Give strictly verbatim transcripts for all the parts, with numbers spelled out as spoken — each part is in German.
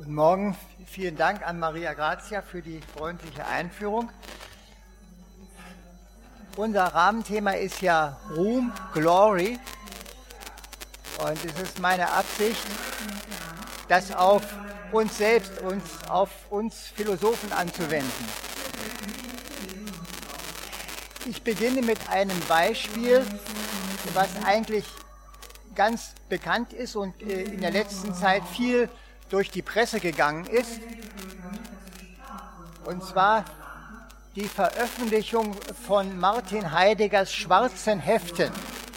Guten Morgen, vielen Dank an Maria Grazia für die freundliche Einführung. Unser Rahmenthema ist ja Ruhm, Glory, und es ist meine Absicht, das auf uns selbst, uns, auf uns Philosophen anzuwenden. Ich beginne mit einem Beispiel, was eigentlich ganz bekannt ist und in der letzten Zeit viel durch die Presse gegangen ist, und zwar die Veröffentlichung von Martin Heideggers Schwarzen Heften.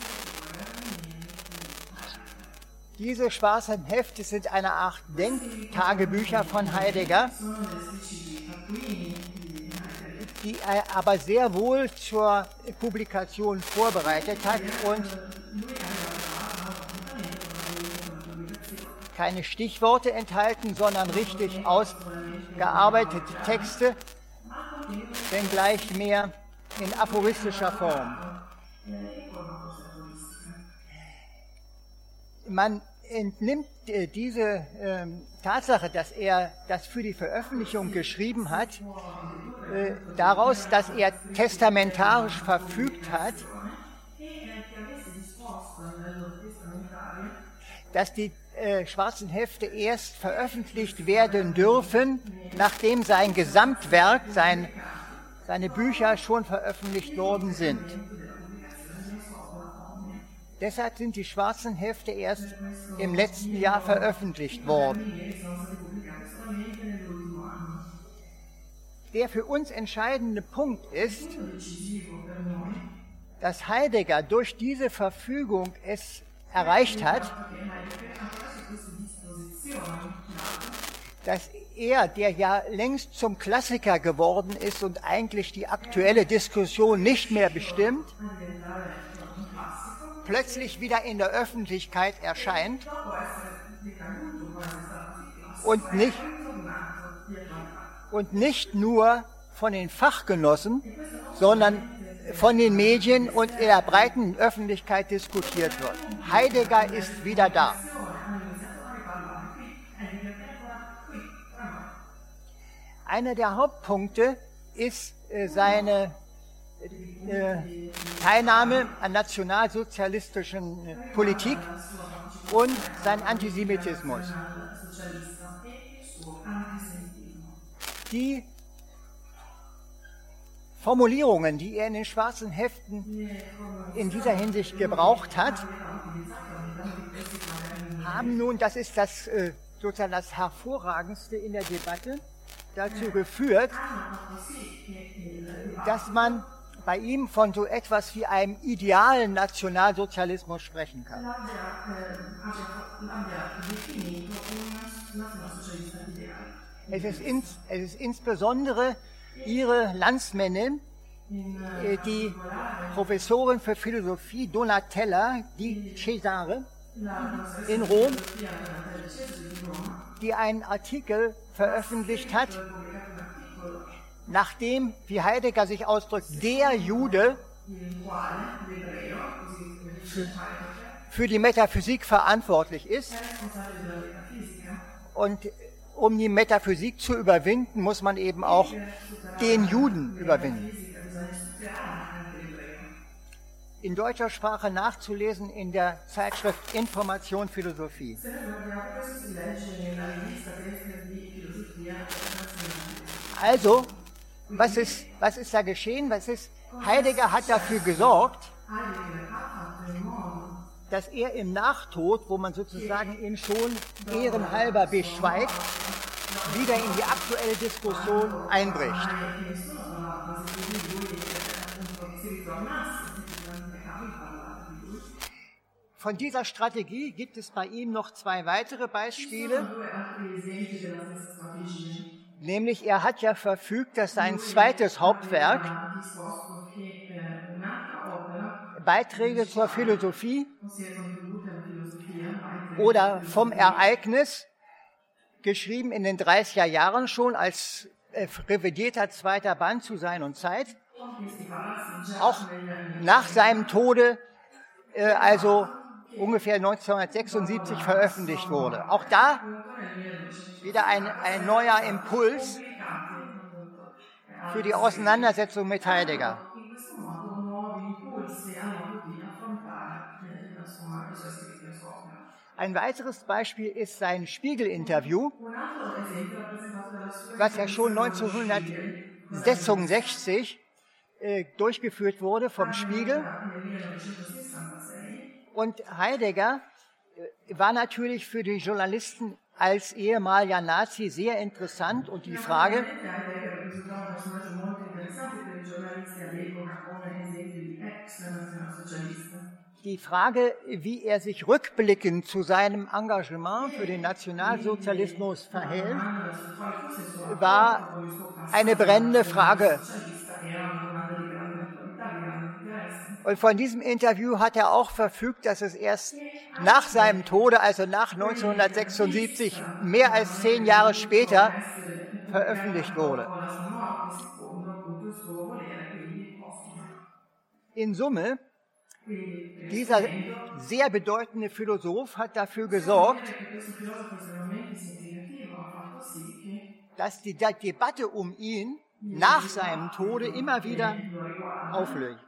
Diese schwarzen Hefte sind eine Art Denktagebücher von Heidegger, die er aber sehr wohl zur Publikation vorbereitet hat und keine Stichworte enthalten, sondern richtig ausgearbeitete Texte, wenngleich mehr in aphoristischer Form. Man entnimmt äh, diese äh, Tatsache, dass er das für die Veröffentlichung geschrieben hat, äh, daraus, dass er testamentarisch verfügt hat, dass die äh, schwarzen Hefte erst veröffentlicht werden dürfen, nachdem sein Gesamtwerk, sein, seine Bücher schon veröffentlicht worden sind. Deshalb sind die schwarzen Hefte erst im letzten Jahr veröffentlicht worden. Der für uns entscheidende Punkt ist, dass Heidegger durch diese Verfügung es erreicht hat, dass er, der ja längst zum Klassiker geworden ist und eigentlich die aktuelle Diskussion nicht mehr bestimmt, plötzlich wieder in der Öffentlichkeit erscheint und nicht, und nicht nur von den Fachgenossen, sondern von den Medien und in der breiten Öffentlichkeit diskutiert wird. Heidegger ist wieder da. Einer der Hauptpunkte ist äh, seine äh, Teilnahme an nationalsozialistischen äh, Politik und sein Antisemitismus. Die Formulierungen, die er in den schwarzen Heften in dieser Hinsicht gebraucht hat, haben nun, das ist das äh, sozusagen das Hervorragendste in der Debatte, dazu geführt, dass man bei ihm von so etwas wie einem idealen Nationalsozialismus sprechen kann. Es ist, ins, es ist insbesondere ihre Landsmännin, die Professorin für Philosophie Donatella di Cesare in Rom, die einen Artikel veröffentlicht hat, nachdem, wie Heidegger sich ausdrückt, der Jude für, für die Metaphysik verantwortlich ist. Und um die Metaphysik zu überwinden, muss man eben auch den Juden überwinden. In deutscher Sprache nachzulesen in der Zeitschrift Information Philosophie. Also, was ist, was ist da geschehen? Was ist, Heidegger hat dafür gesorgt, dass er im Nachtod, wo man sozusagen ihn schon ehrenhalber beschweigt, wieder in die aktuelle Diskussion einbricht. Von dieser Strategie gibt es bei ihm noch zwei weitere Beispiele. Nämlich, er hat ja verfügt, dass sein zweites Hauptwerk, Beiträge zur Philosophie oder vom Ereignis, geschrieben in den dreißiger Jahren schon als äh, revidierter zweiter Band zu Sein und Zeit, auch nach seinem Tode, äh, also ungefähr neunzehnhundertsechsundsiebzig veröffentlicht wurde. Auch da wieder ein, ein neuer Impuls für die Auseinandersetzung mit Heidegger. Ein weiteres Beispiel ist sein Spiegel-Interview, was ja schon neunzehnhundertsechsundsechzig äh, durchgeführt wurde vom Spiegel. Und Heidegger äh, war natürlich für die Journalisten als ehemaliger Nazi sehr interessant und die Frage, die Frage, wie er sich rückblickend zu seinem Engagement für den Nationalsozialismus verhält, war eine brennende Frage. Und von diesem Interview hat er auch verfügt, dass es erst nach seinem Tode, also nach neunzehnhundertsechsundsiebzig, mehr als zehn Jahre später, veröffentlicht wurde. In Summe, dieser sehr bedeutende Philosoph hat dafür gesorgt, dass die Debatte um ihn nach seinem Tode immer wieder auflöst.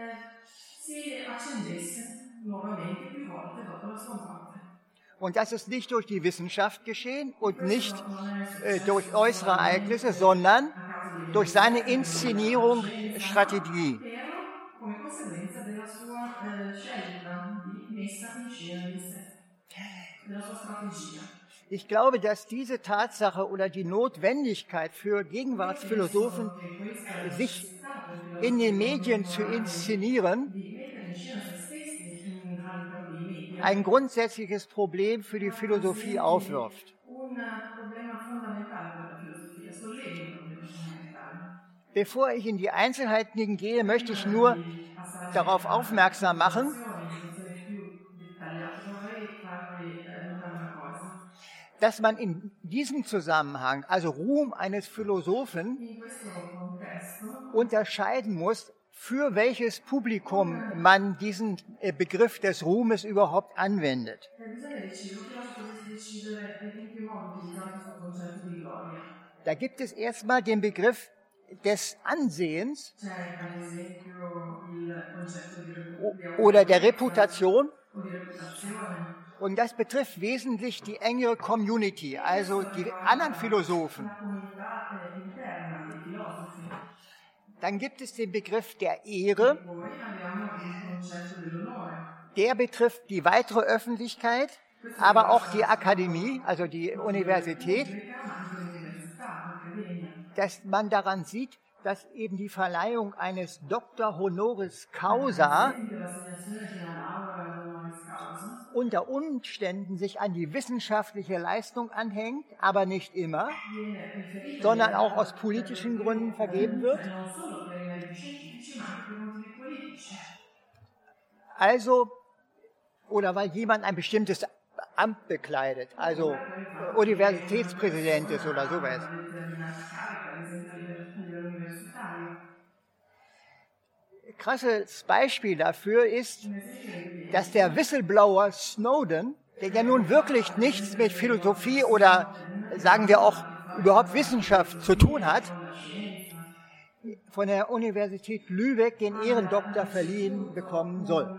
Und das ist nicht durch die Wissenschaft geschehen und nicht äh, durch äußere Ereignisse, sondern durch seine Inszenierung, Strategie. Ich glaube, dass diese Tatsache oder die Notwendigkeit für Gegenwartsphilosophen, sich in den Medien zu inszenieren, ein grundsätzliches Problem für die Philosophie aufwirft. Bevor ich in die Einzelheiten gehe, möchte ich nur darauf aufmerksam machen, dass man in diesem Zusammenhang, also Ruhm eines Philosophen, unterscheiden muss, für welches Publikum man diesen Begriff des Ruhmes überhaupt anwendet. Da gibt es erstmal den Begriff des Ansehens oder der Reputation. Und das betrifft wesentlich die engere Community, also die anderen Philosophen. Dann gibt es den Begriff der Ehre. Der betrifft die weitere Öffentlichkeit, aber auch die Akademie, also die Universität. Dass man daran sieht, dass eben die Verleihung eines Doctor Honoris Causa unter Umständen sich an die wissenschaftliche Leistung anhängt, aber nicht immer, sondern auch aus politischen Gründen vergeben wird. Also, oder weil jemand ein bestimmtes Amt bekleidet, also Universitätspräsident ist oder sowas. Krasses Beispiel dafür ist, dass der Whistleblower Snowden, der ja nun wirklich nichts mit Philosophie oder sagen wir auch überhaupt Wissenschaft zu tun hat, von der Universität Lübeck den Ehrendoktor verliehen bekommen soll.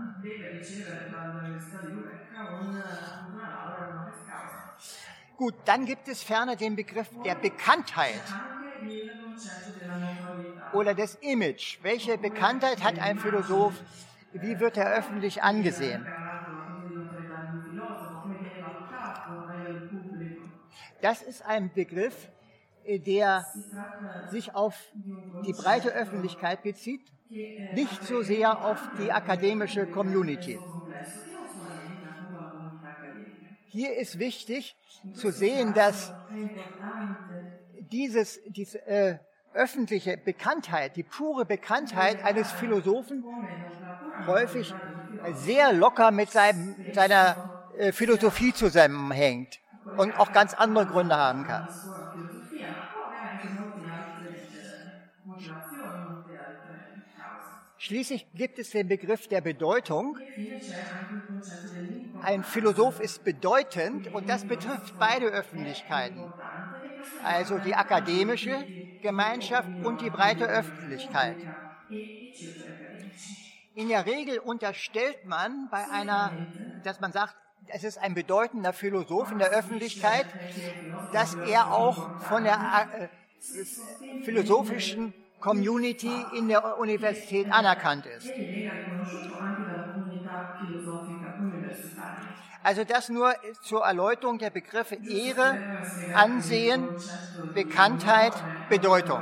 Gut, dann gibt es ferner den Begriff der Bekanntheit oder des Image. Welche Bekanntheit hat ein Philosoph? Wie wird er öffentlich angesehen? Das ist ein Begriff, der sich auf die breite Öffentlichkeit bezieht, nicht so sehr auf die akademische Community. Hier ist wichtig zu sehen, dass dieses, diese äh, öffentliche Bekanntheit, die pure Bekanntheit eines Philosophen häufig sehr locker mit seinem, seiner äh, Philosophie zusammenhängt und auch ganz andere Gründe haben kann. Schließlich gibt es den Begriff der Bedeutung. Ein Philosoph ist bedeutend und das betrifft beide Öffentlichkeiten, also die akademische Gemeinschaft und die breite Öffentlichkeit. In der Regel unterstellt man bei einer, dass man sagt, es ist ein bedeutender Philosoph in der Öffentlichkeit, dass er auch von der äh, philosophischen Community in der Universität anerkannt ist. Also das nur zur Erläuterung der Begriffe Ehre, Ansehen, Bekanntheit, Bedeutung.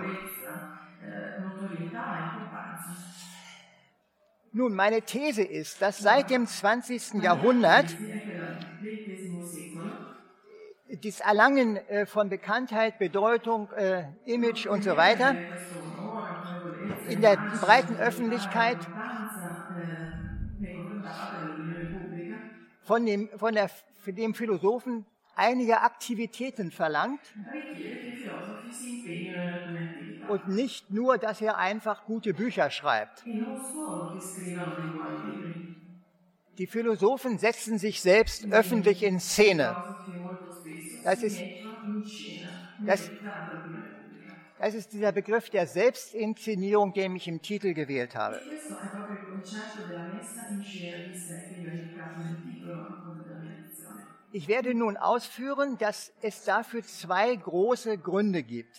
Nun, meine These ist, dass seit dem zwanzigsten Jahrhundert das Erlangen von Bekanntheit, Bedeutung, Image und so weiter in der breiten Öffentlichkeit von dem, von der, von dem Philosophen einige Aktivitäten verlangt und nicht nur, dass er einfach gute Bücher schreibt. Die Philosophen setzen sich selbst öffentlich in Szene. Das ist, das, das ist dieser Begriff der Selbstinszenierung, den ich im Titel gewählt habe. Ich werde nun ausführen, dass es dafür zwei große Gründe gibt.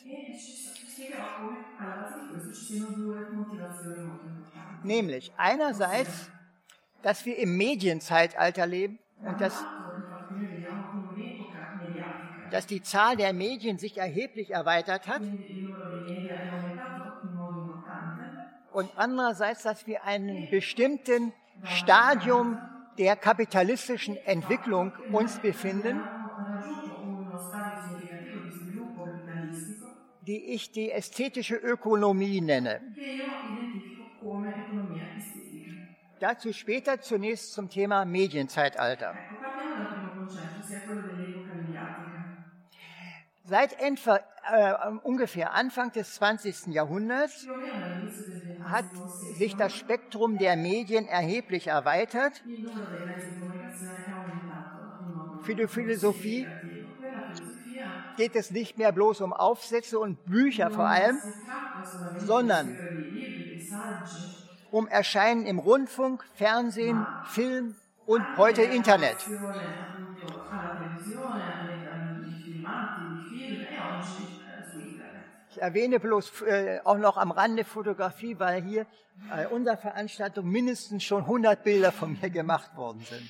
Nämlich einerseits, dass wir im Medienzeitalter leben und dass, dass die Zahl der Medien sich erheblich erweitert hat. Und andererseits, dass wir einen bestimmten Stadium der kapitalistischen Entwicklung uns befinden, die ich die ästhetische Ökonomie nenne. Dazu später, zunächst zum Thema Medienzeitalter. Seit etwa, äh, ungefähr Anfang des zwanzigsten Jahrhunderts hat sich das Spektrum der Medien erheblich erweitert. Für die Philosophie geht es nicht mehr bloß um Aufsätze und Bücher vor allem, sondern um Erscheinen im Rundfunk, Fernsehen, Film und heute Internet. Ich erwähne bloß äh, auch noch am Rande Fotografie, weil hier bei unserer Veranstaltung mindestens schon hundert Bilder von mir gemacht worden sind.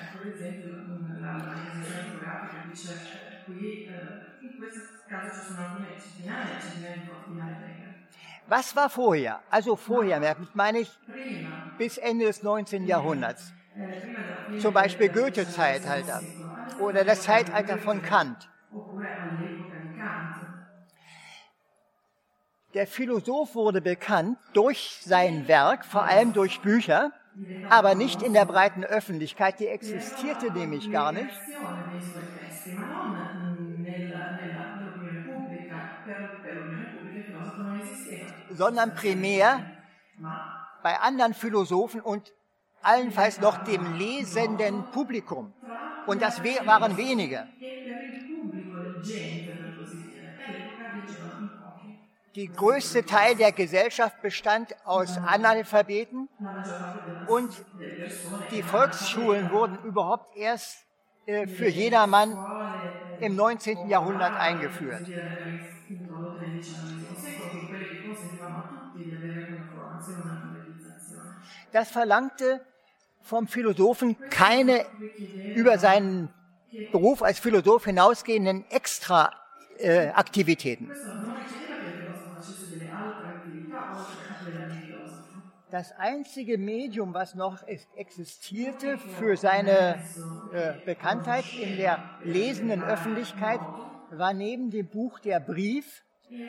Was war vorher? Also vorher, damit meine ich bis Ende des neunzehnten Jahrhunderts. Zum Beispiel Goethe-Zeitalter oder das Zeitalter von Kant. Der Philosoph wurde bekannt durch sein Werk, vor allem durch Bücher, aber nicht in der breiten Öffentlichkeit, die existierte nämlich gar nicht, sondern primär bei anderen Philosophen und allenfalls noch dem lesenden Publikum. Und das waren wenige. Der größte Teil der Gesellschaft bestand aus Analphabeten und die Volksschulen wurden überhaupt erst äh, für jedermann im neunzehnten Jahrhundert eingeführt. Das verlangte vom Philosophen keine über seinen Beruf als Philosoph hinausgehenden Extra-Aktivitäten. Äh, Das einzige Medium, was noch existierte für seine äh, Bekanntheit in der lesenden Öffentlichkeit, war neben dem Buch der Brief.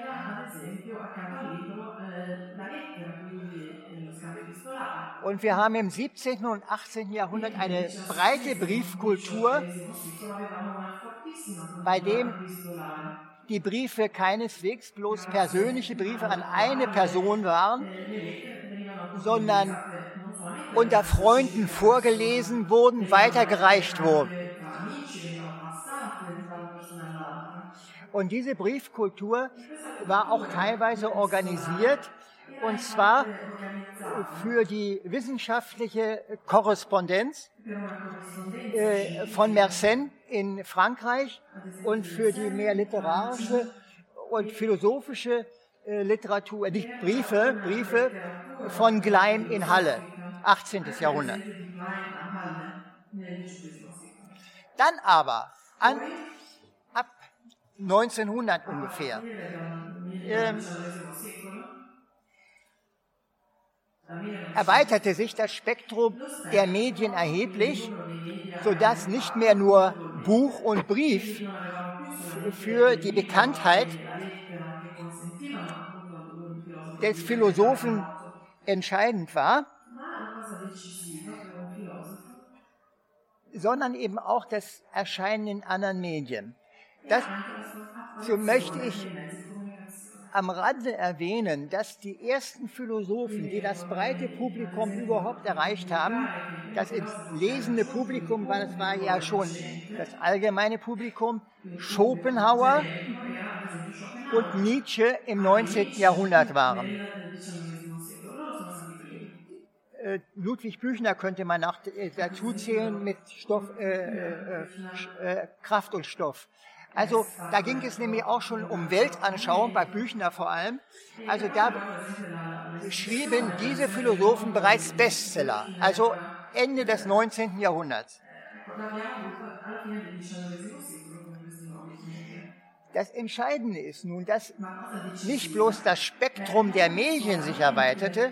Und wir haben im siebzehnten und achtzehnten Jahrhundert eine breite Briefkultur, bei dem die Briefe keineswegs bloß persönliche Briefe an eine Person waren, sondern unter Freunden vorgelesen wurden, weitergereicht wurden. Und diese Briefkultur war auch teilweise organisiert, und zwar für die wissenschaftliche Korrespondenz äh, von Mersenne in Frankreich und für die mehr literarische und philosophische äh, Literatur, nicht Briefe, Briefe von Gleim in Halle, achtzehntes Jahrhundert. Dann aber an, ab neunzehnhundert ungefähr ähm, erweiterte sich das Spektrum der Medien erheblich, sodass nicht mehr nur Buch und Brief für die Bekanntheit des Philosophen entscheidend war, sondern eben auch das Erscheinen in anderen Medien. Dazu möchte ich am Rande erwähnen, dass die ersten Philosophen, die das breite Publikum überhaupt erreicht haben, das lesende Publikum, weil es war ja schon das allgemeine Publikum, Schopenhauer und Nietzsche im neunzehnten Jahrhundert waren. Ludwig Büchner könnte man noch dazu zählen mit Stoff, äh, äh, äh, Kraft und Stoff. Also da ging es nämlich auch schon um Weltanschauung, bei Büchner vor allem. Also da schrieben diese Philosophen bereits Bestseller, also Ende des neunzehnten Jahrhunderts. Das Entscheidende ist nun, dass nicht bloß das Spektrum der Medien sich erweiterte,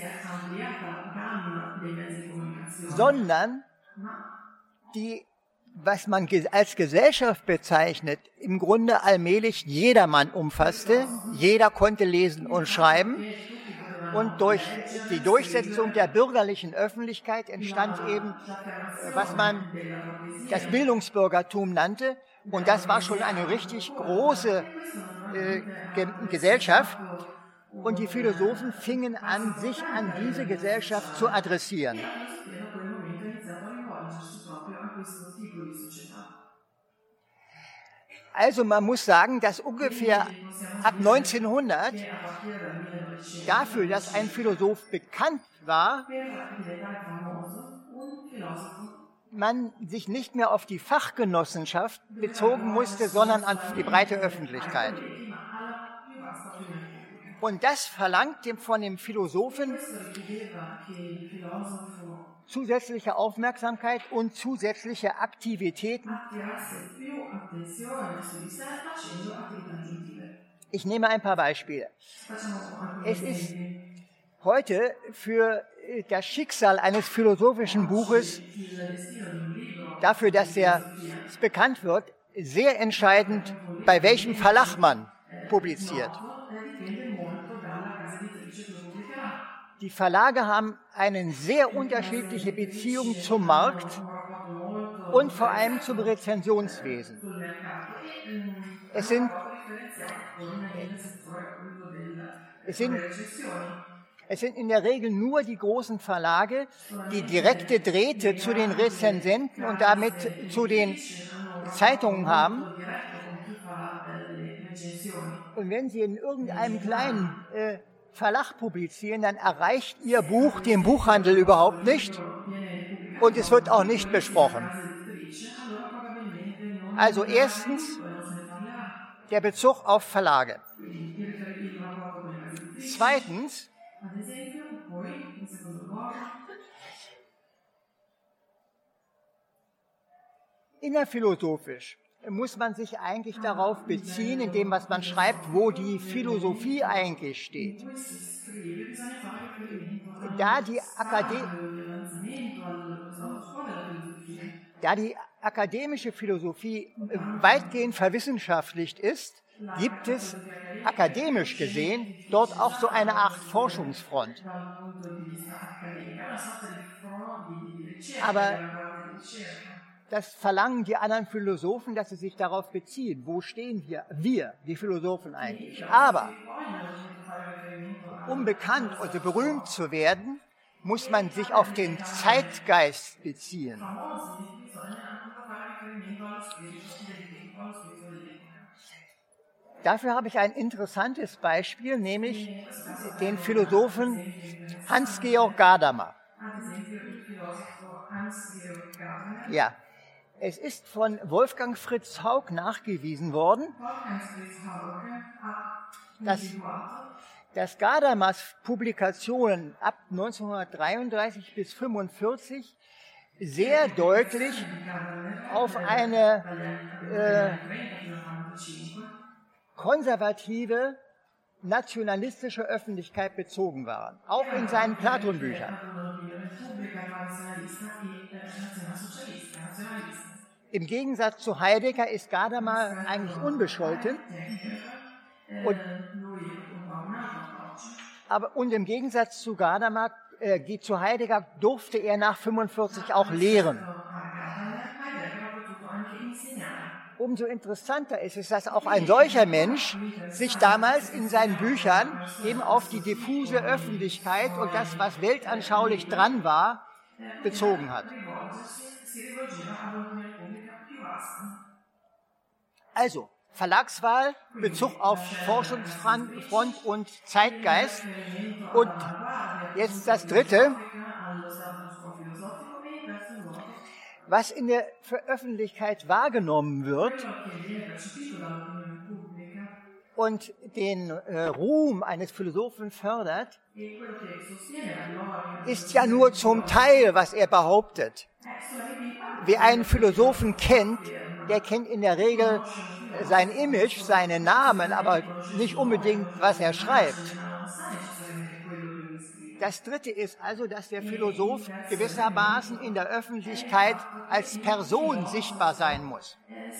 sondern die, was man als Gesellschaft bezeichnet, im Grunde allmählich jedermann umfasste. Jeder konnte lesen und schreiben. Und durch die Durchsetzung der bürgerlichen Öffentlichkeit entstand eben, was man das Bildungsbürgertum nannte. Und das war schon eine richtig große äh, Ge- Gesellschaft. Und die Philosophen fingen an, sich an diese Gesellschaft zu adressieren. Also man muss sagen, dass ungefähr ab neunzehnhundert dafür, dass ein Philosoph bekannt war, man sich nicht mehr auf die Fachgenossenschaft bezogen musste, sondern auf die breite Öffentlichkeit. Und das verlangt dem von dem Philosophen zusätzliche Aufmerksamkeit und zusätzliche Aktivitäten. Ich nehme ein paar Beispiele. Es ist heute für das Schicksal eines philosophischen Buches, dafür, dass er bekannt wird, sehr entscheidend, bei welchem Verlag man publiziert. Die Verlage haben eine sehr unterschiedliche Beziehung zum Markt und vor allem zum Rezensionswesen. Es sind, es sind, es sind in der Regel nur die großen Verlage, die direkte Drähte zu den Rezensenten und damit zu den Zeitungen haben. Und wenn sie in irgendeinem kleinen äh, Verlag publizieren, dann erreicht ihr Buch den Buchhandel überhaupt nicht und es wird auch nicht besprochen. Also erstens der Bezug auf Verlage. Zweitens innerphilosophisch muss man sich eigentlich darauf beziehen, in dem, was man schreibt, wo die Philosophie eigentlich steht. Da die, Akade- da die akademische Philosophie weitgehend verwissenschaftlicht ist, gibt es akademisch gesehen dort auch so eine Art Forschungsfront. Aber das verlangen die anderen Philosophen, dass sie sich darauf beziehen. Wo stehen wir, wir, die Philosophen eigentlich? Aber um bekannt oder berühmt zu werden, muss man sich auf den Zeitgeist beziehen. Dafür habe ich ein interessantes Beispiel, nämlich den Philosophen Hans-Georg Gadamer. Ja, es ist von Wolfgang Fritz Haug nachgewiesen worden, dass, dass Gadamers Publikationen ab neunzehnhundertdreiunddreißig bis neunzehnhundertfünfundvierzig sehr deutlich auf eine äh, konservative, nationalistische Öffentlichkeit bezogen waren, auch in seinen Platon-Büchern. Im Gegensatz zu Heidegger ist Gadamer eigentlich unbescholten und, aber, und im Gegensatz zu Gadamer, äh, zu Heidegger durfte er nach fünfundvierzig auch lehren. Umso interessanter ist es, dass auch ein solcher Mensch sich damals in seinen Büchern eben auf die diffuse Öffentlichkeit und das, was weltanschaulich dran war, bezogen hat. Also, Verlagswahl, Bezug auf Forschungsfront und Zeitgeist. Und jetzt das Dritte. Was in der Öffentlichkeit wahrgenommen wird und den äh, Ruhm eines Philosophen fördert, ist ja nur zum Teil, was er behauptet. Wer einen Philosophen kennt, der kennt in der Regel sein Image, seinen Namen, aber nicht unbedingt, was er schreibt. Das Dritte ist also, dass der Philosoph gewissermaßen in der Öffentlichkeit als Person sichtbar sein muss.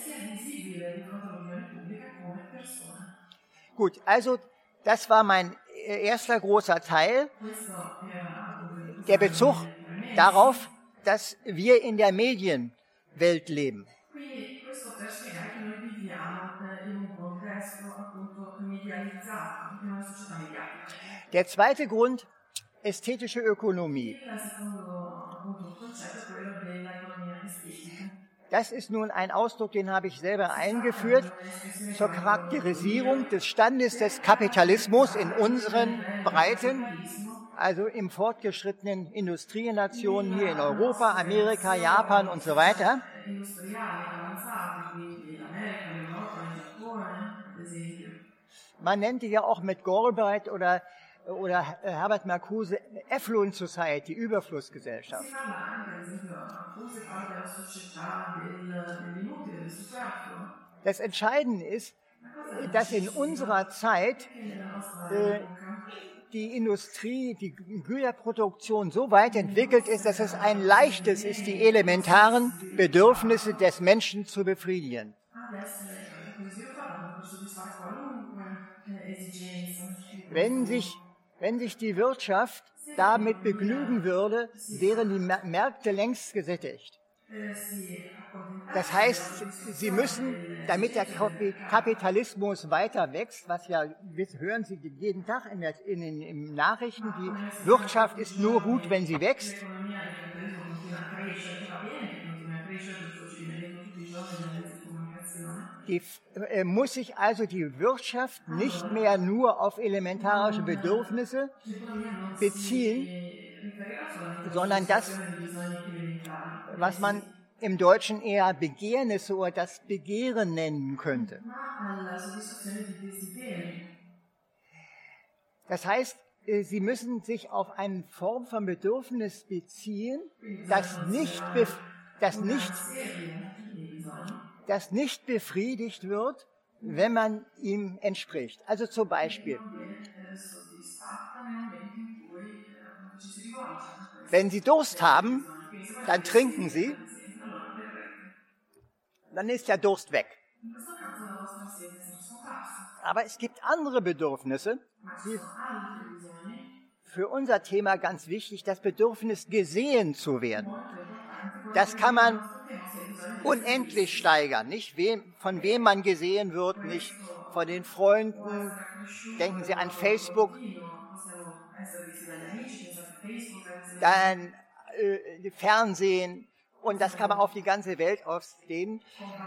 Gut, also das war mein erster großer Teil, der Bezug darauf, dass wir in der Medienwelt leben. Der zweite Grund, ästhetische Ökonomie. Das ist nun ein Ausdruck, den habe ich selber eingeführt, zur Charakterisierung des Standes des Kapitalismus in unseren Breiten, also im fortgeschrittenen Industrienationen hier in Europa, Amerika, Japan und so weiter. Man nennt die ja auch mit Galbraith oder oder Herbert Marcuse Affluent Society, Überflussgesellschaft. Das Entscheidende ist, dass in unserer Zeit äh, die Industrie, die Güterproduktion so weit entwickelt ist, dass es ein leichtes ist, die elementaren Bedürfnisse des Menschen zu befriedigen. Wenn sich Wenn sich die Wirtschaft damit begnügen würde, wären die Märkte längst gesättigt. Das heißt, sie müssen, damit der Kapitalismus weiter wächst, was ja, hören Sie jeden Tag in der, in den in Nachrichten, die Wirtschaft ist nur gut, wenn sie wächst. Die, äh, muss sich also die Wirtschaft nicht mehr nur auf elementarische Bedürfnisse beziehen, sondern das, was man im Deutschen eher Begehrnisse oder das Begehren nennen könnte. Das heißt, äh, sie müssen sich auf eine Form von Bedürfnis beziehen, das nicht, bef- das nicht das nicht befriedigt wird, wenn man ihm entspricht. Also zum Beispiel, wenn Sie Durst haben, dann trinken Sie, dann ist der Durst weg. Aber es gibt andere Bedürfnisse, die für unser Thema ganz wichtig, das Bedürfnis gesehen zu werden. Das kann man unendlich steigern, nicht wem, von wem man gesehen wird, nicht von den Freunden. Denken Sie an Facebook, dann äh, Fernsehen, und das kann man auf die ganze Welt ausdehnen.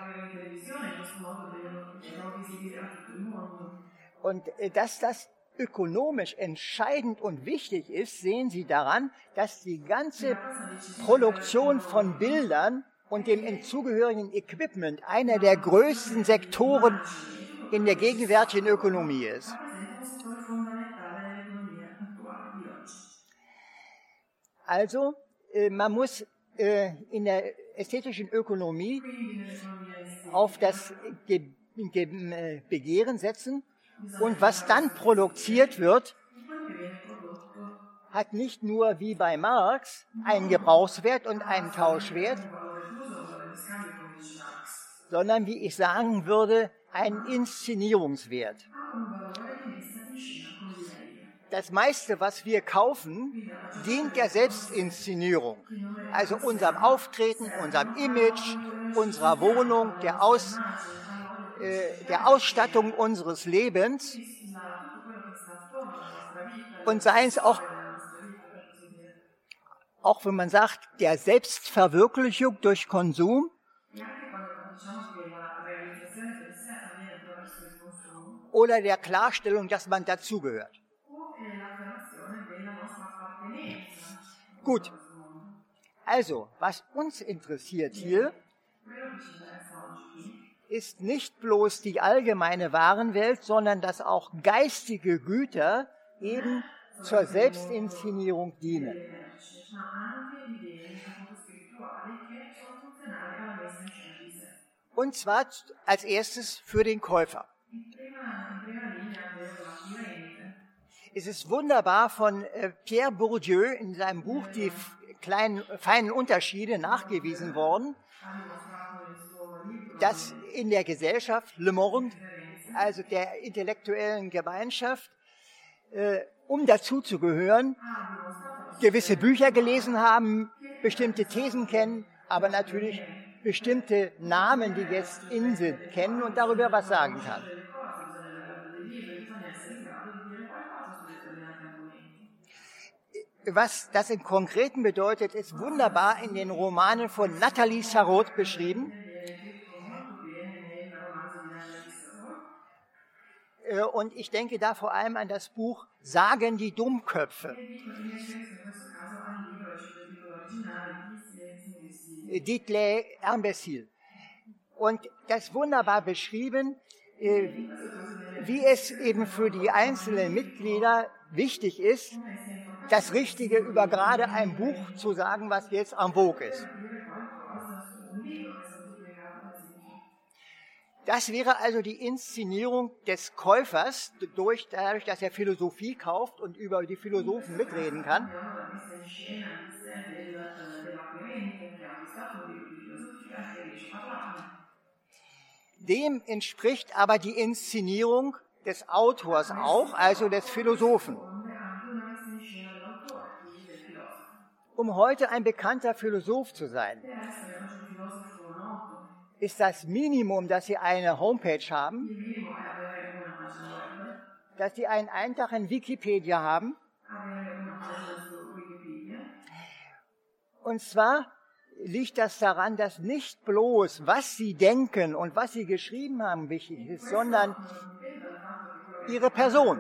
Und äh, dass das ökonomisch entscheidend und wichtig ist, sehen Sie daran, dass die ganze Produktion von Bildern und dem zugehörigen Equipment einer der größten Sektoren in der gegenwärtigen Ökonomie ist. Also, äh, man muss äh, in der ästhetischen Ökonomie auf das Ge Ge Begehren setzen, und was dann produziert wird, hat nicht nur wie bei Marx einen Gebrauchswert und einen Tauschwert, sondern, wie ich sagen würde, einen Inszenierungswert. Das meiste, was wir kaufen, dient der Selbstinszenierung. Also unserem Auftreten, unserem Image, unserer Wohnung, der, Aus, äh, der Ausstattung unseres Lebens. Und seien es auch, auch wenn man sagt, der Selbstverwirklichung durch Konsum. Oder der Klarstellung, dass man dazugehört. Gut, also, was uns interessiert hier, ist nicht bloß die allgemeine Warenwelt, sondern dass auch geistige Güter eben zur Selbstinszenierung dienen. Und zwar als erstes für den Käufer. Es ist wunderbar von äh, Pierre Bourdieu in seinem Buch Die kleinen, feinen Unterschiede nachgewiesen worden, dass in der Gesellschaft Le Monde, also der intellektuellen Gemeinschaft, äh, um dazuzugehören, gewisse Bücher gelesen haben, bestimmte Thesen kennen, aber natürlich bestimmte Namen, die jetzt in sind, kennen und darüber was sagen kann. Was das im Konkreten bedeutet, ist wunderbar in den Romanen von Nathalie Sarraute beschrieben. Und ich denke da vor allem an das Buch Sagen die Dummköpfe. Dites-les imbéciles. Und das wunderbar beschrieben, wie es eben für die einzelnen Mitglieder wichtig ist, das Richtige über gerade ein Buch zu sagen, was jetzt en vogue ist. Das wäre also die Inszenierung des Käufers, durch, dadurch, dass er Philosophie kauft und über die Philosophen mitreden kann. Dem entspricht aber die Inszenierung des Autors auch, also des Philosophen. Um heute ein bekannter Philosoph zu sein, ist das Minimum, dass Sie eine Homepage haben, dass Sie einen Eintrag in Wikipedia haben. Und zwar liegt das daran, dass nicht bloß, was Sie denken und was Sie geschrieben haben, wichtig ist, sondern Ihre Person.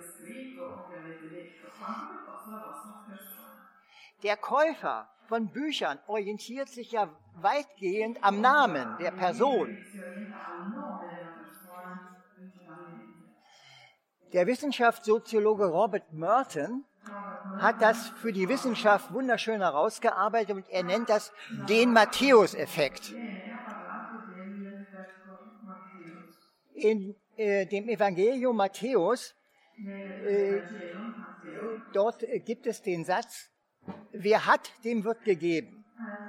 Der Käufer von Büchern orientiert sich ja weitgehend am Namen der Person. Der Wissenschaftssoziologe Robert Merton hat das für die Wissenschaft wunderschön herausgearbeitet und er nennt das den Matthäus-Effekt. In äh, dem Evangelium Matthäus, äh, dort äh, gibt es den Satz, wer hat, dem wird gegeben.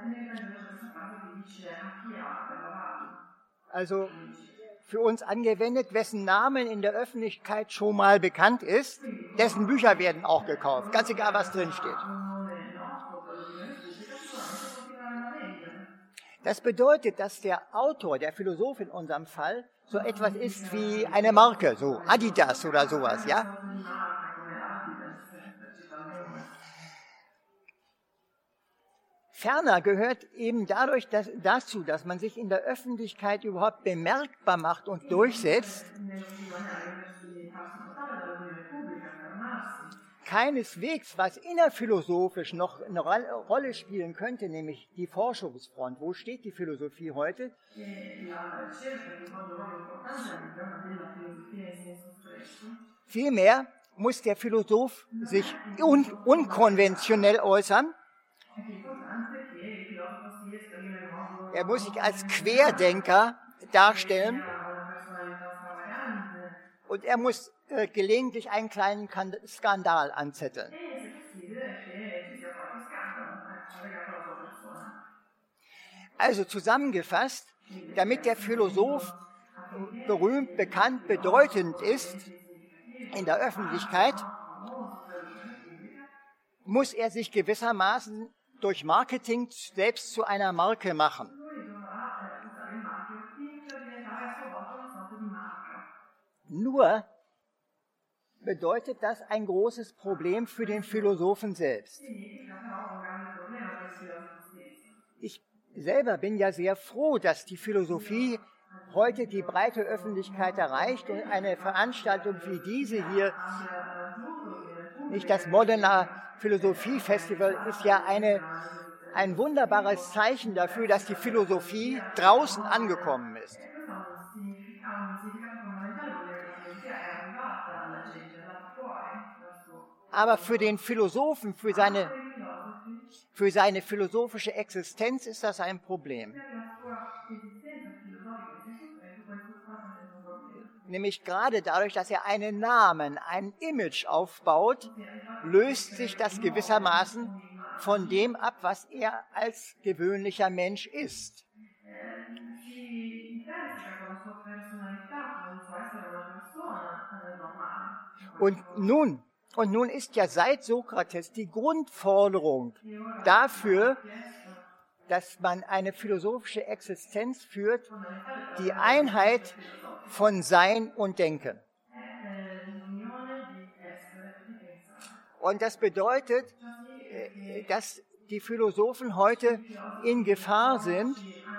Also für uns angewendet, wessen Namen in der Öffentlichkeit schon mal bekannt ist, dessen Bücher werden auch gekauft, ganz egal, was drin steht. Das bedeutet, dass der Autor, der Philosoph in unserem Fall, so etwas ist wie eine Marke, so Adidas oder sowas, ja? Ferner gehört eben dadurch dass, dazu, dass man sich in der Öffentlichkeit überhaupt bemerkbar macht und durchsetzt, keineswegs, was innerphilosophisch noch eine Rolle spielen könnte, nämlich die Forschungsfront. Wo steht die Philosophie heute? Vielmehr muss der Philosoph sich un unkonventionell äußern. Er muss sich als Querdenker darstellen und er muss äh, gelegentlich einen kleinen Skandal anzetteln. Also zusammengefasst, damit der Philosoph berühmt, bekannt, bedeutend ist in der Öffentlichkeit, muss er sich gewissermaßen durch Marketing selbst zu einer Marke machen. Nur bedeutet das ein großes Problem für den Philosophen selbst. Ich selber bin ja sehr froh, dass die Philosophie heute die breite Öffentlichkeit erreicht und eine Veranstaltung wie diese hier, nicht das Moderner Philosophie Festival, ist ja eine, ein wunderbares Zeichen dafür, dass die Philosophie draußen angekommen ist. Aber für den Philosophen, für seine, für seine philosophische Existenz ist das ein Problem. Nämlich gerade dadurch, dass er einen Namen, ein Image aufbaut, löst sich das gewissermaßen von dem ab, was er als gewöhnlicher Mensch ist. Und nun, und nun ist ja seit Sokrates die Grundforderung dafür, dass man eine philosophische Existenz führt, die Einheit von Sein und Denken. Und das bedeutet, dass die Philosophen heute in Gefahr sind,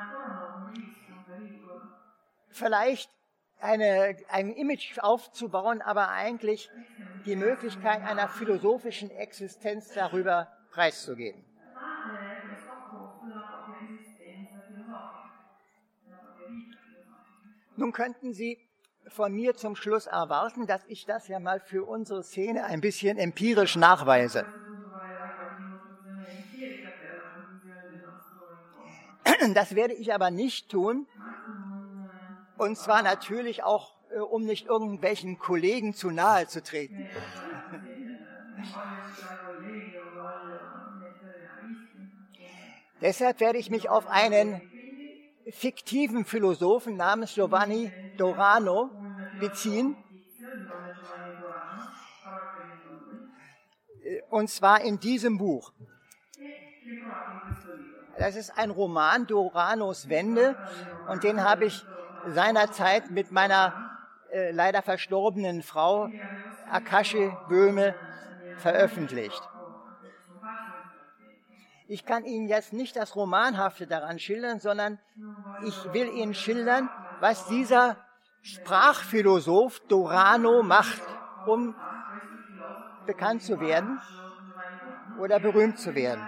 vielleicht eine, ein Image aufzubauen, aber eigentlich die Möglichkeit einer philosophischen Existenz darüber preiszugeben. Nun könnten Sie von mir zum Schluss erwarten, dass ich das ja mal für unsere Szene ein bisschen empirisch nachweise. Das werde ich aber nicht tun. Und zwar natürlich auch, um nicht irgendwelchen Kollegen zu nahe zu treten. Deshalb werde ich mich auf einen fiktiven Philosophen namens Giovanni Dorano beziehen. Und zwar in diesem Buch. Das ist ein Roman, Doranos Wende, und den habe ich seinerzeit mit meiner äh, leider verstorbenen Frau Akashi Böhme veröffentlicht. Ich kann Ihnen jetzt nicht das Romanhafte daran schildern, sondern ich will Ihnen schildern, was dieser Sprachphilosoph Dorano macht, um bekannt zu werden oder berühmt zu werden.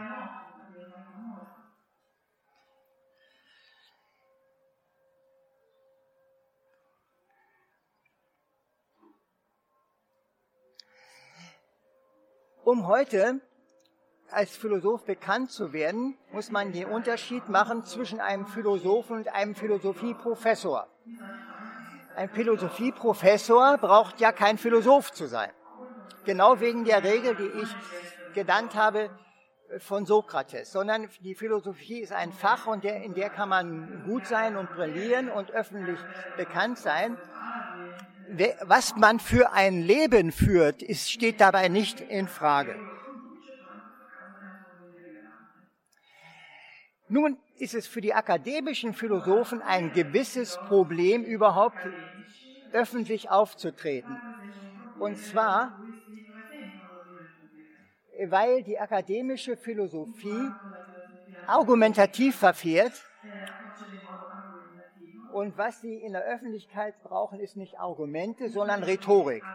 Um heute als Philosoph bekannt zu werden, muss man den Unterschied machen zwischen einem Philosophen und einem Philosophieprofessor. Ein Philosophieprofessor braucht ja kein Philosoph zu sein. Genau wegen der Regel, die ich genannt habe von Sokrates. Sondern die Philosophie ist ein Fach, und der, in der kann man gut sein und brillieren und öffentlich bekannt sein. Was man für ein Leben führt, ist, steht dabei nicht in Frage. Nun ist es für die akademischen Philosophen ein gewisses Problem, überhaupt öffentlich aufzutreten. Und zwar, weil die akademische Philosophie argumentativ verfährt. Und was sie in der Öffentlichkeit brauchen, ist nicht Argumente, sondern Rhetorik.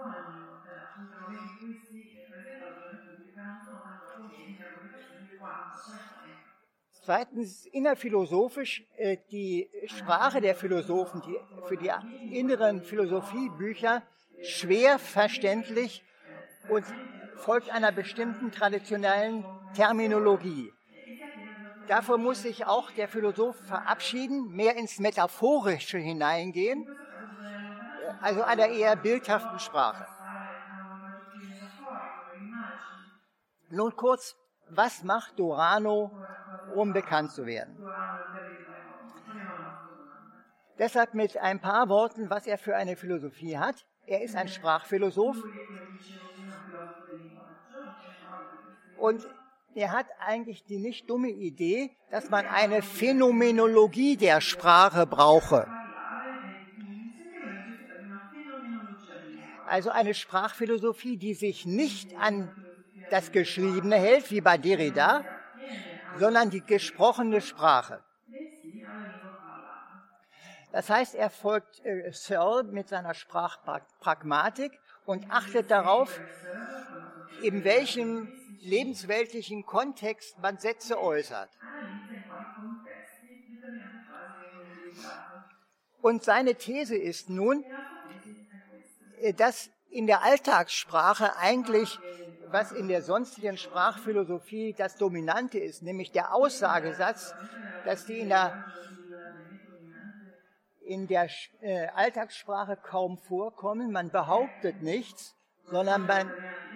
Zweitens, innerphilosophisch, äh, die Sprache der Philosophen, die für die inneren Philosophiebücher schwer verständlich und folgt einer bestimmten traditionellen Terminologie. Davor muss sich auch der Philosoph verabschieden, mehr ins Metaphorische hineingehen, also einer eher bildhaften Sprache. Nun kurz, was macht Dorano, um bekannt zu werden? Deshalb mit ein paar Worten, was er für eine Philosophie hat. Er ist ein Sprachphilosoph und er hat eigentlich die nicht dumme Idee, dass man eine Phänomenologie der Sprache brauche. Also eine Sprachphilosophie, die sich nicht an das Geschriebene hält, wie bei Derrida, sondern die gesprochene Sprache. Das heißt, er folgt äh, Searle mit seiner Sprachpragmatik und achtet darauf, in welchem lebensweltlichen Kontext man Sätze äußert. Und seine These ist nun, dass in der Alltagssprache eigentlich, was in der sonstigen Sprachphilosophie das Dominante ist, nämlich der Aussagesatz, dass die in der, in der äh, Alltagssprache kaum vorkommen. Man behauptet nichts, sondern man,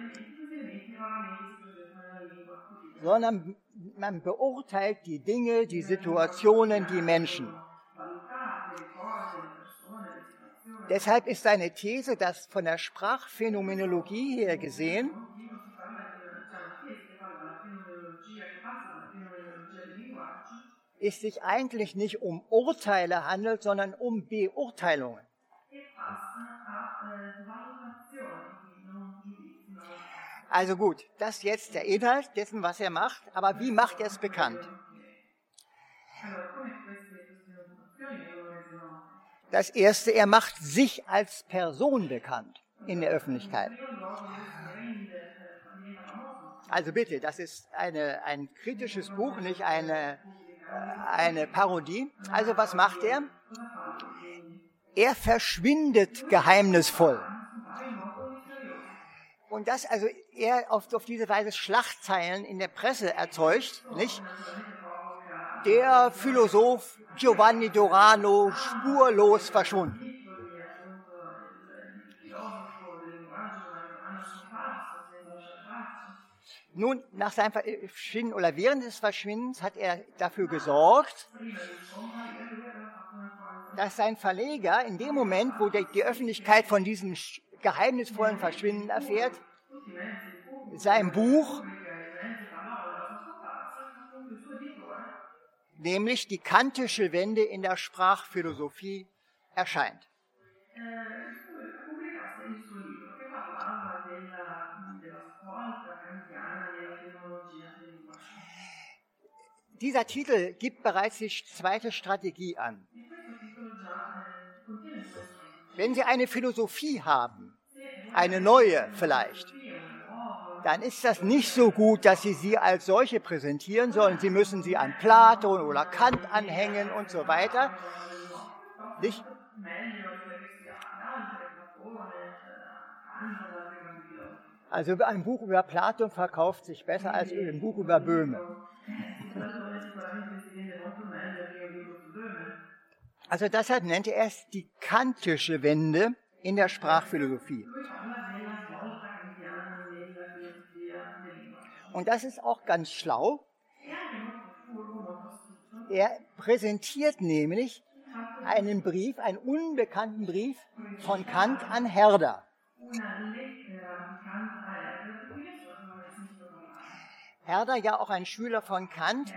sondern man beurteilt die Dinge, die Situationen, die Menschen. Deshalb ist seine These, dass von der Sprachphänomenologie her gesehen es sich eigentlich nicht um Urteile handelt, sondern um Beurteilungen. Also gut, das ist jetzt der Inhalt dessen, was er macht, aber wie macht er es bekannt? Das Erste, er macht sich als Person bekannt in der Öffentlichkeit. Also bitte, das ist eine, ein kritisches Buch, nicht eine, eine Parodie. Also was macht er? Er verschwindet geheimnisvoll. Und das, also er auf, auf diese Weise Schlagzeilen in der Presse erzeugt, nicht? Der Philosoph Giovanni Dorano spurlos verschwunden. Nun, nach seinem Verschwinden oder während des Verschwindens hat er dafür gesorgt, dass sein Verleger in dem Moment, wo die, die Öffentlichkeit von diesem geheimnisvollen Verschwinden erfährt, sein Buch, nämlich die kantische Wende in der Sprachphilosophie, erscheint. Dieser Titel gibt bereits die zweite Strategie an. Wenn Sie eine Philosophie haben, eine neue vielleicht, dann ist das nicht so gut, dass Sie sie als solche präsentieren, sondern Sie müssen sie an Platon oder Kant anhängen und so weiter. Nicht? Also ein Buch über Platon verkauft sich besser als ein Buch über Böhme. Also deshalb nennt er es die kantische Wende in der Sprachphilosophie. Und das ist auch ganz schlau. Er präsentiert nämlich einen Brief, einen unbekannten Brief von Kant an Herder. Herder, ja auch ein Schüler von Kant,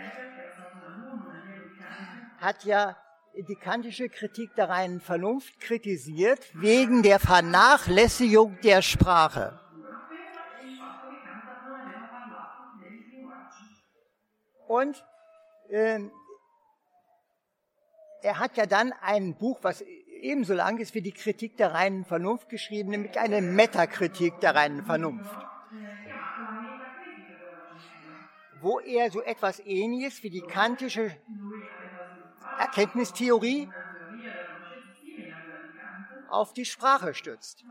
hat ja die kantische Kritik der reinen Vernunft kritisiert, wegen der Vernachlässigung der Sprache. Und Ähm, er hat ja dann ein Buch, was ebenso lang ist wie die Kritik der reinen Vernunft geschrieben, nämlich eine Metakritik der reinen Vernunft, wo er so etwas Ähnliches wie die kantische Erkenntnistheorie auf die Sprache stützt.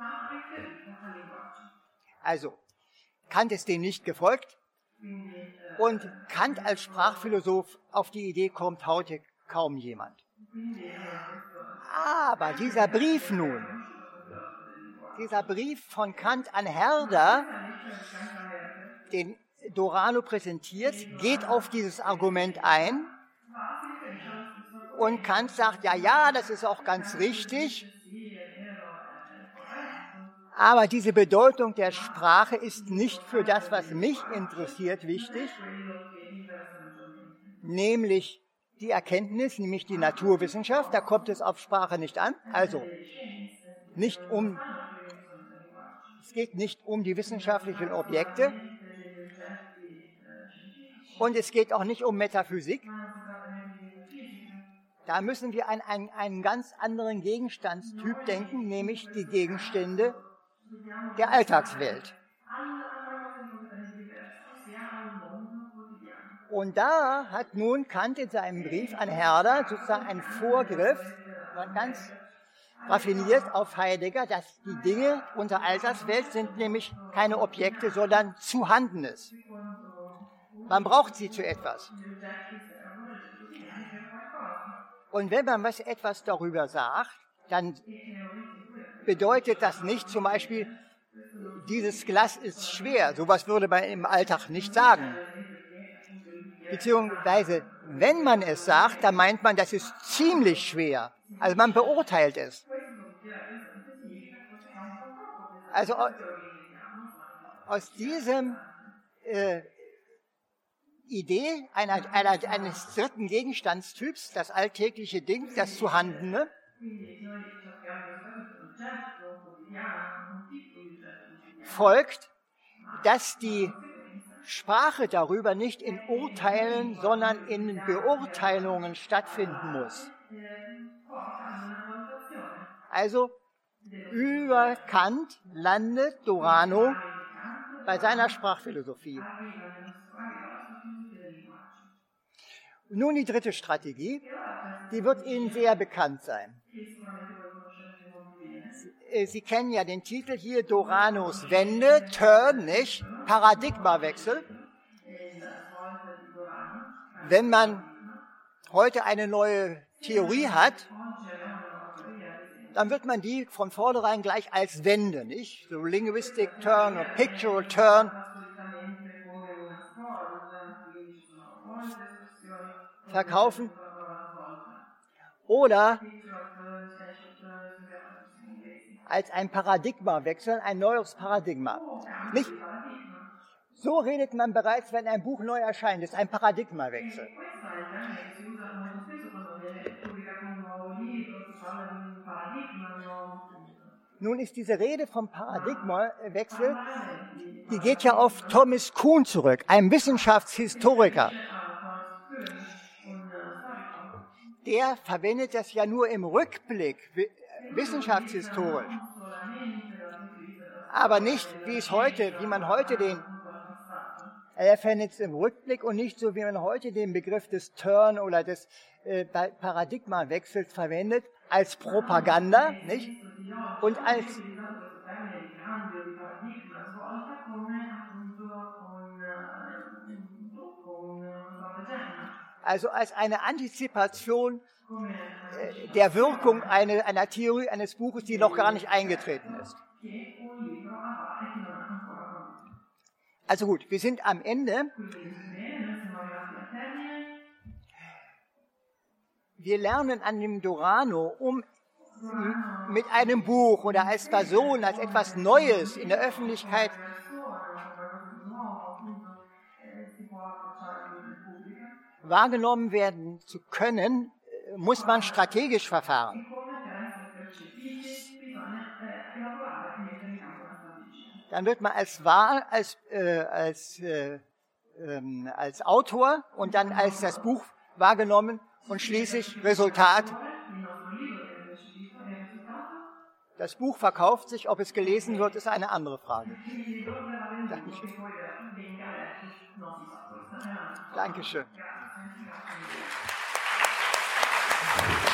Also, Kant ist dem nicht gefolgt und Kant als Sprachphilosoph auf die Idee kommt heute kaum jemand. Aber dieser Brief nun, dieser Brief von Kant an Herder, den Dorano präsentiert, geht auf dieses Argument ein und Kant sagt, ja, ja, das ist auch ganz richtig, aber diese Bedeutung der Sprache ist nicht für das, was mich interessiert, wichtig, nämlich die Erkenntnis, nämlich die Naturwissenschaft, da kommt es auf Sprache nicht an, also nicht um, es geht nicht um die wissenschaftlichen Objekte und es geht auch nicht um Metaphysik. Da müssen wir an einen, einen ganz anderen Gegenstandstyp denken, nämlich die Gegenstände der Alltagswelt. Und da hat nun Kant in seinem Brief an Herder sozusagen einen Vorgriff, ganz raffiniert auf Heidegger, dass die Dinge unserer Alltagswelt sind nämlich keine Objekte, sondern Zuhandenes. Man braucht sie zu etwas. Und wenn man was etwas darüber sagt, dann bedeutet das nicht zum Beispiel, dieses Glas ist schwer. Sowas würde man im Alltag nicht sagen. Beziehungsweise, wenn man es sagt, dann meint man, das ist ziemlich schwer. Also man beurteilt es. Also aus diesem äh, Idee einer, einer, eines dritten Gegenstandstyps, das alltägliche Ding, das Zuhandene, folgt, dass die Sprache darüber nicht in Urteilen, sondern in Beurteilungen stattfinden muss. Also über Kant landet Dorano bei seiner Sprachphilosophie. Nun die dritte Strategie, die wird Ihnen sehr bekannt sein. Sie kennen ja den Titel hier, Doranos Wende, Turn, nicht? Paradigmawechsel. Wenn man heute eine neue Theorie hat, dann wird man die von vornherein gleich als Wende, nicht? So Linguistic Turn oder Pictorial Turn verkaufen. Oder als ein Paradigmawechsel, ein neues Paradigma. Nicht? So redet man bereits, wenn ein Buch neu erscheint. Das ist ein Paradigmawechsel. Nun ist diese Rede vom Paradigmawechsel, die geht ja auf Thomas Kuhn zurück, einem Wissenschaftshistoriker. Der verwendet das ja nur im Rückblick, wissenschaftshistorisch. Aber nicht, wie es heute, wie man heute den, er verwendet es im Rückblick und nicht so, wie man heute den Begriff des Turn oder des äh, Paradigmawechsels verwendet, als Propaganda, nicht? Und als also als eine Antizipation äh, der Wirkung eine, einer Theorie eines Buches, die noch gar nicht eingetreten ist. Also gut, wir sind am Ende. Wir lernen an dem Dorano, um mit einem Buch oder als Person, als etwas Neues in der Öffentlichkeit wahrgenommen werden zu können, muss man strategisch verfahren. Dann wird man als Wahl, als, äh, als, äh, ähm, als Autor und dann als das Buch, wahrgenommen und schließlich Resultat. Das Buch verkauft sich, ob es gelesen wird, ist eine andere Frage. Dankeschön. Dankeschön.